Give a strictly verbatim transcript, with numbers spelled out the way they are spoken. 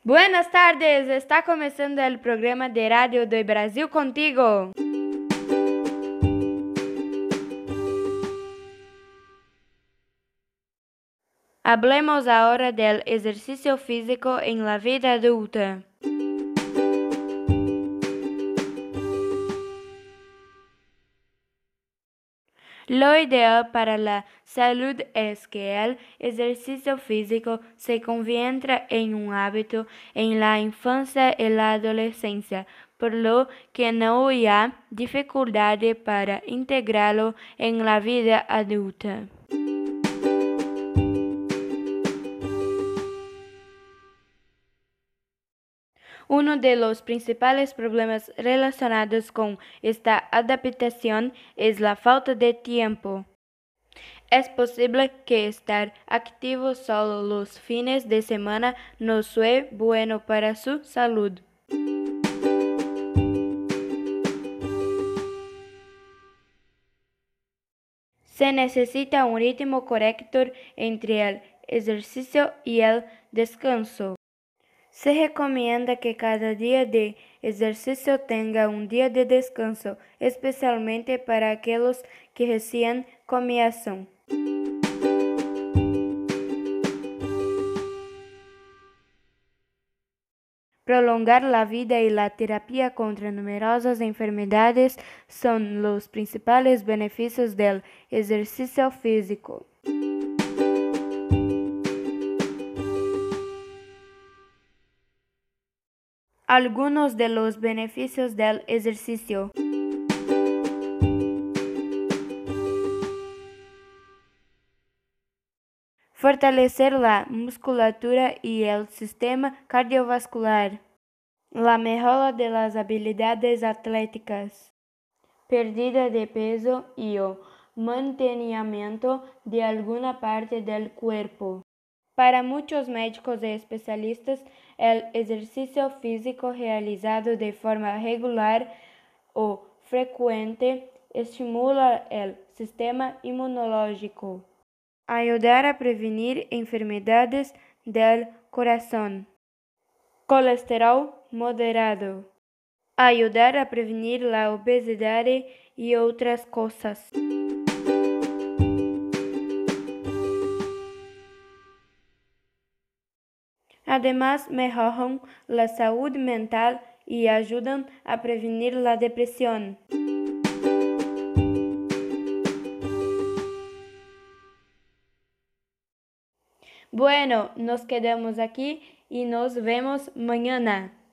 Buenas tardes, está começando o programa de rádio do Brasil contigo. Hablemos ahora del ejercicio físico en la vida adulta. Lo ideal para la salud es que el ejercicio físico se convierta en un hábito en la infancia y la adolescencia, por lo que no haya dificultad para integrarlo en la vida adulta. Uno de los principales problemas relacionados con esta adaptación es la falta de tiempo. Es posible que estar activo solo los fines de semana no sea bueno para su salud. Se necesita un ritmo correcto entre el ejercicio y el descanso. Se recomienda que cada día de ejercicio tenga un día de descanso, especialmente para aquellos que recién comienzan. Prolongar la vida y la terapia contra numerosas enfermedades son los principales beneficios del ejercicio físico. Algunos de los beneficios del ejercicio. Fortalecer la musculatura y el sistema cardiovascular. La mejora de las habilidades atléticas. Pérdida de peso y o mantenimiento de alguna parte del cuerpo. Para muchos médicos y especialistas, el ejercicio físico realizado de forma regular o frecuente estimula el sistema inmunológico, ayudar a prevenir enfermedades del corazón, colesterol moderado, ayudar a prevenir la obesidad y otras cosas. Además, mejoran la salud mental y ayudan a prevenir la depresión. Bueno, nos quedamos aquí y nos vemos mañana.